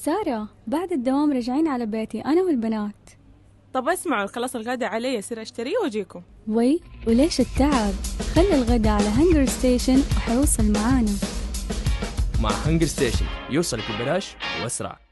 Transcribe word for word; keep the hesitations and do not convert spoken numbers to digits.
سارة، بعد الدوام راجعين على بيتي أنا والبنات. طب اسمعوا، خلاص الغدا علي، يصير اشتريه واجيكم. وي وليش التعب؟ خلي الغدا على هنجر ستيشن وحيوصل معانا. مع هنجر ستيشن يوصلك ببلاش وأسرع.